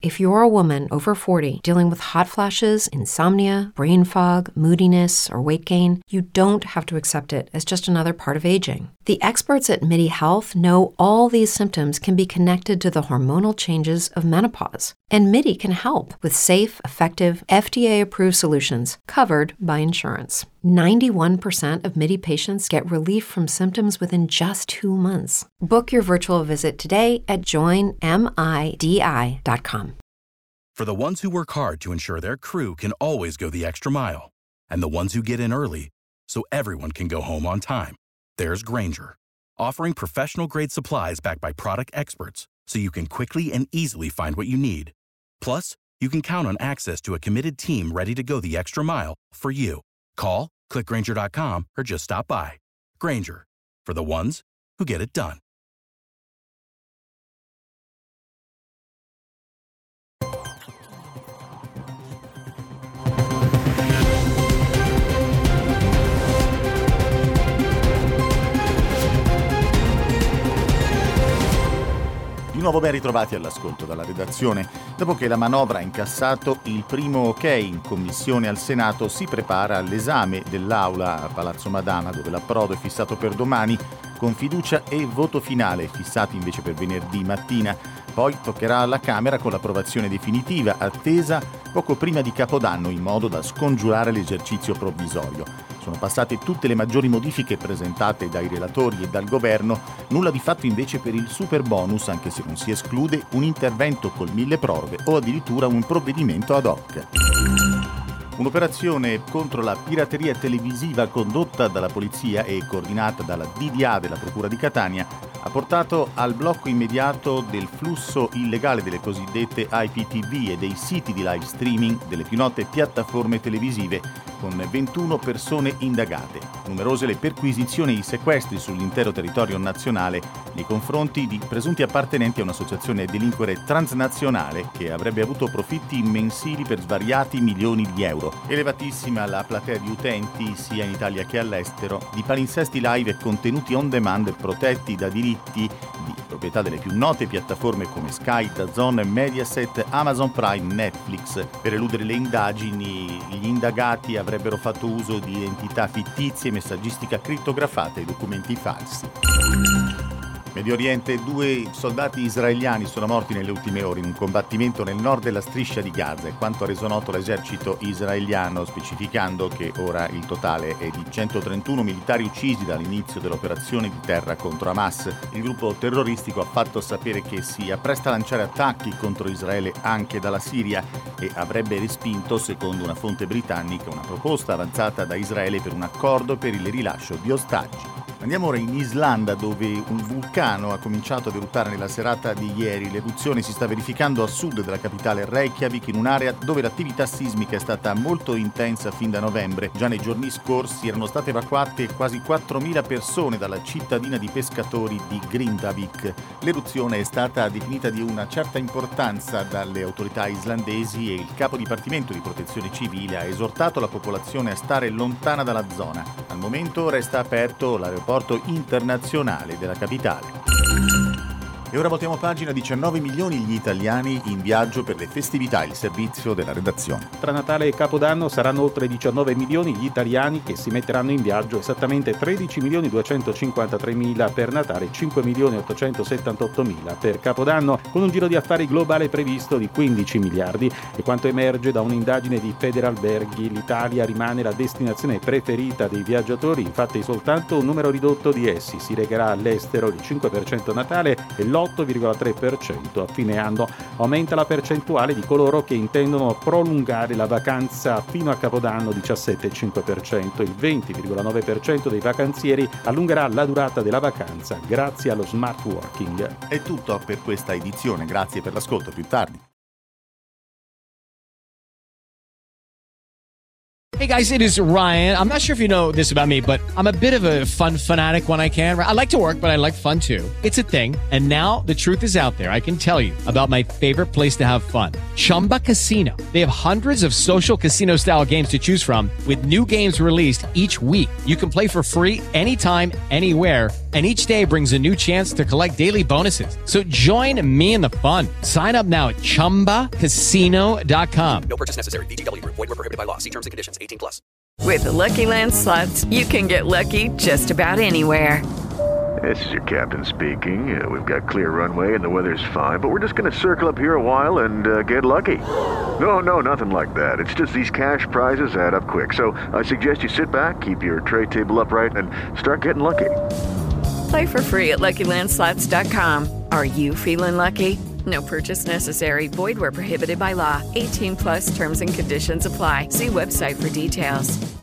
If you're a woman over 40 dealing with hot flashes, insomnia, brain fog, moodiness, or weight gain, you don't have to accept it as just another part of aging. The experts at MIDI Health know all these symptoms can be connected to the hormonal changes of menopause. And MIDI can help with safe, effective, FDA-approved solutions covered by insurance. 91% of MIDI patients get relief from symptoms within just 2 months. Book your virtual visit today at joinmidi.com. For the ones who work hard to ensure their crew can always go the extra mile, and the ones who get in early so everyone can go home on time, there's Grainger, offering professional-grade supplies backed by product experts so you can quickly and easily find what you need. Plus, you can count on access to a committed team ready to go the extra mile for you. Call, click Grainger.com, or just stop by. Grainger, for the ones who get it done. Di nuovo ben ritrovati all'ascolto dalla redazione. Dopo che la manovra ha incassato il primo ok in commissione al Senato, si prepara all'esame dell'Aula a Palazzo Madama, dove l'approdo è fissato per domani, con fiducia e voto finale fissati invece per venerdì mattina. Poi toccherà alla Camera con l'approvazione definitiva, attesa poco prima di Capodanno, in modo da scongiurare l'esercizio provvisorio. Sono passate tutte le maggiori modifiche presentate dai relatori e dal governo, nulla di fatto invece per il super bonus, anche se non si esclude un intervento col milleproroghe o addirittura un provvedimento ad hoc. Un'operazione contro la pirateria televisiva condotta dalla polizia e coordinata dalla DDA della Procura di Catania ha portato al blocco immediato del flusso illegale delle cosiddette IPTV e dei siti di live streaming delle più note piattaforme televisive, con 21 persone indagate. Numerose le perquisizioni e i sequestri sull'intero territorio nazionale nei confronti di presunti appartenenti a un'associazione delinquere transnazionale che avrebbe avuto profitti mensili per svariati milioni di euro. Elevatissima la platea di utenti, sia in Italia che all'estero, di palinsesti live e contenuti on demand protetti da diritti di proprietà delle più note piattaforme come Sky, DAZN, Mediaset, Amazon Prime, Netflix. Per eludere le indagini, gli indagati avrebbero fatto uso di identità fittizie, messaggistica crittografata e documenti falsi. Medio Oriente, 2 soldati israeliani sono morti nelle ultime ore in un combattimento nel nord della striscia di Gaza, è quanto ha reso noto l'esercito israeliano, specificando che ora il totale è di 131 militari uccisi dall'inizio dell'operazione di terra contro Hamas. Il gruppo terroristico ha fatto sapere che si appresta a lanciare attacchi contro Israele anche dalla Siria e avrebbe respinto, secondo una fonte britannica, una proposta avanzata da Israele per un accordo per il rilascio di ostaggi. Andiamo ora in Islanda, dove un vulcano ha cominciato ad eruttare nella serata di ieri. L'eruzione si sta verificando a sud della capitale Reykjavik, in un'area dove l'attività sismica è stata molto intensa fin da novembre. Già nei giorni scorsi erano state evacuate quasi 4.000 persone dalla cittadina di pescatori di Grindavik. L'eruzione è stata definita di una certa importanza dalle autorità islandesi e il capo dipartimento di protezione civile ha esortato la popolazione a stare lontana dalla zona. Al momento resta aperto l'aeroporto internazionale della capitale. E ora voltiamo pagina. 19 milioni gli italiani in viaggio per le festività, il servizio della redazione. Tra Natale e Capodanno saranno oltre 19 milioni gli italiani che si metteranno in viaggio, esattamente 13 milioni 253 mila per Natale e 5 milioni 878 mila per Capodanno, con un giro di affari globale previsto di 15 miliardi. E quanto emerge da un'indagine di Federalberghi, l'Italia rimane la destinazione preferita dei viaggiatori, infatti soltanto un numero ridotto di essi si recherà all'estero, il 5% a Natale e l'8,3% a fine anno. Aumenta la percentuale di coloro che intendono prolungare la vacanza fino a Capodanno, 17,5%. Il 20,9% dei vacanzieri allungherà la durata della vacanza grazie allo smart working. È tutto per questa edizione, grazie per l'ascolto, più tardi. Hey guys, it is Ryan. I'm not sure if you know this about me, but I'm a bit of a fun fanatic when I can. I like to work, but I like fun too. It's a thing. And now the truth is out there. I can tell you about my favorite place to have fun. Chumba Casino. They have hundreds of social casino-style games to choose from with new games released each week. You can play for free anytime, anywhere, and each day brings a new chance to collect daily bonuses. So join me in the fun. Sign up now at ChumbaCasino.com. No purchase necessary. VGW Group. Void where prohibited by law. See terms and conditions. 18+. With the Lucky Land Slots, you can get lucky just about anywhere. This is your captain speaking. We've got clear runway and the weather's fine, but we're just going to circle up here a while and get lucky. No, nothing like that. It's just these cash prizes add up quick. So I suggest you sit back, keep your tray table upright, and start getting lucky. Play for free at LuckyLandSlots.com. Are you feeling lucky? No purchase necessary. Void where prohibited by law. 18+ terms and conditions apply. See website for details.